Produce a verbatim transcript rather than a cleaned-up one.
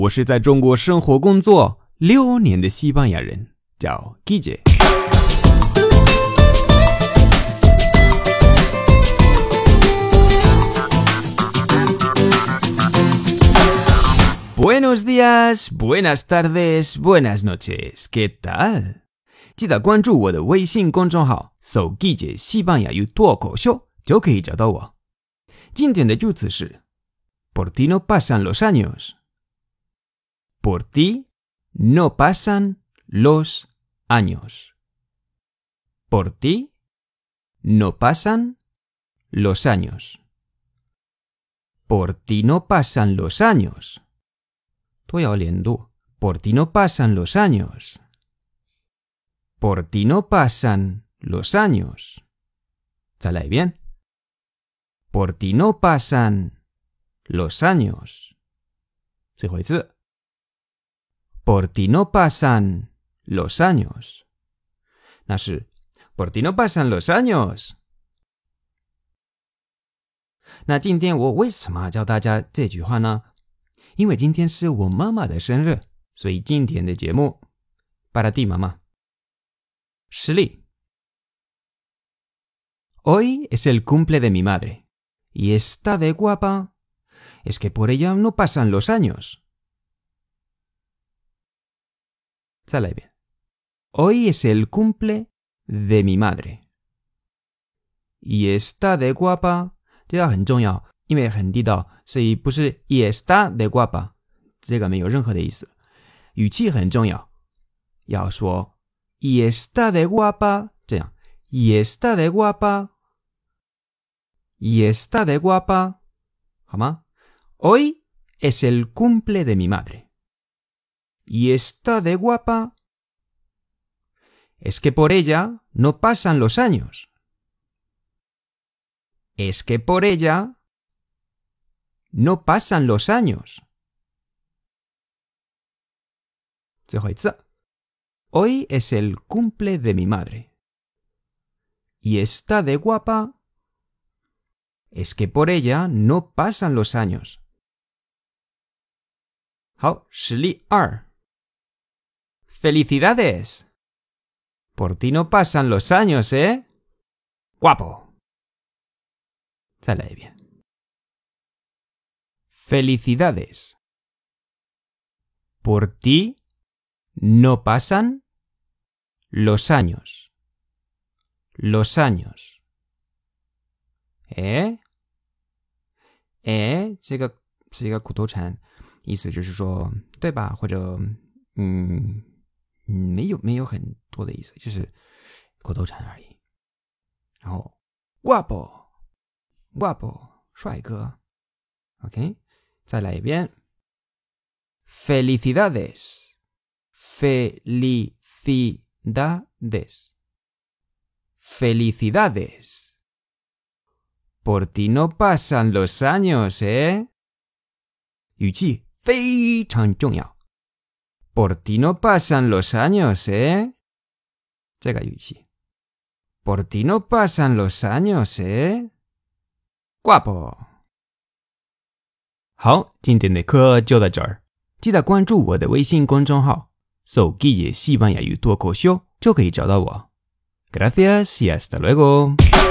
我是在中国生活工作六年的西班牙人，叫 Guille。Buenos días, buenas tardes, buenas noches. ¿Qué tal? 记得关注我的微信公众号，搜 Guille 西班牙语脱口秀就可以找到我。今天的助词是 Por ti no pasan los años. Por ti no pasan los años. Por ti no pasan los años. Por ti no pasan los años. 都要连读 Por ti no pasan los años. Por ti no pasan los años. 再来一遍 Por ti no pasan los años. 最后一次 Por ti no pasan los años. 那是 Por ti no pasan los años. 那今天我为什么教大家这句话呢？因为今天是我妈妈的生日，所以今天的节目 para ti mamá。实例 Hoy es el cumple de mi madre y está de guapa. Es que por ella no pasan los años. 再来一遍 Hoy es el cumple de mi madre y está de guapa. 这个很重要，因为很地道，所以不是 y está de guapa， 这个没有任何的意思。语气很重要，要说 y está de guapa， 这样 y está de guapa y está de guapa， 好吗？ Hoy es el cumple de mi madre y está de guapa. Es que por ella no pasan los años. Es que por ella no pasan los años. 最后一次 Hoy es el cumple de mi madre y está de guapa. Es que por ella no pasan los años. 好，实例二 Felicidades. Por ti no pasan los años, ¿eh? Guapo. 再来一遍 Felicidades. Por ti no pasan los años. Los años. 诶诶这个是一个口头禅，意思就是说对吧，或者嗯没有没有很多的意思，就是口头禅而已。然后 guapo guapo 帅哥 OK 再来一遍 Felicidades Felicidades Felicidades Por ti no pasan los años, ¿eh? 语气非常重要 Por ti no pasan los años, ¿eh? 这个语气 Por ti no pasan los años, ¿eh? Guapo 好，今天的课就到这儿，记得关注我的微信公众号，搜 Guille 西班牙语脱口秀就可以找到我。Gracias y hasta luego.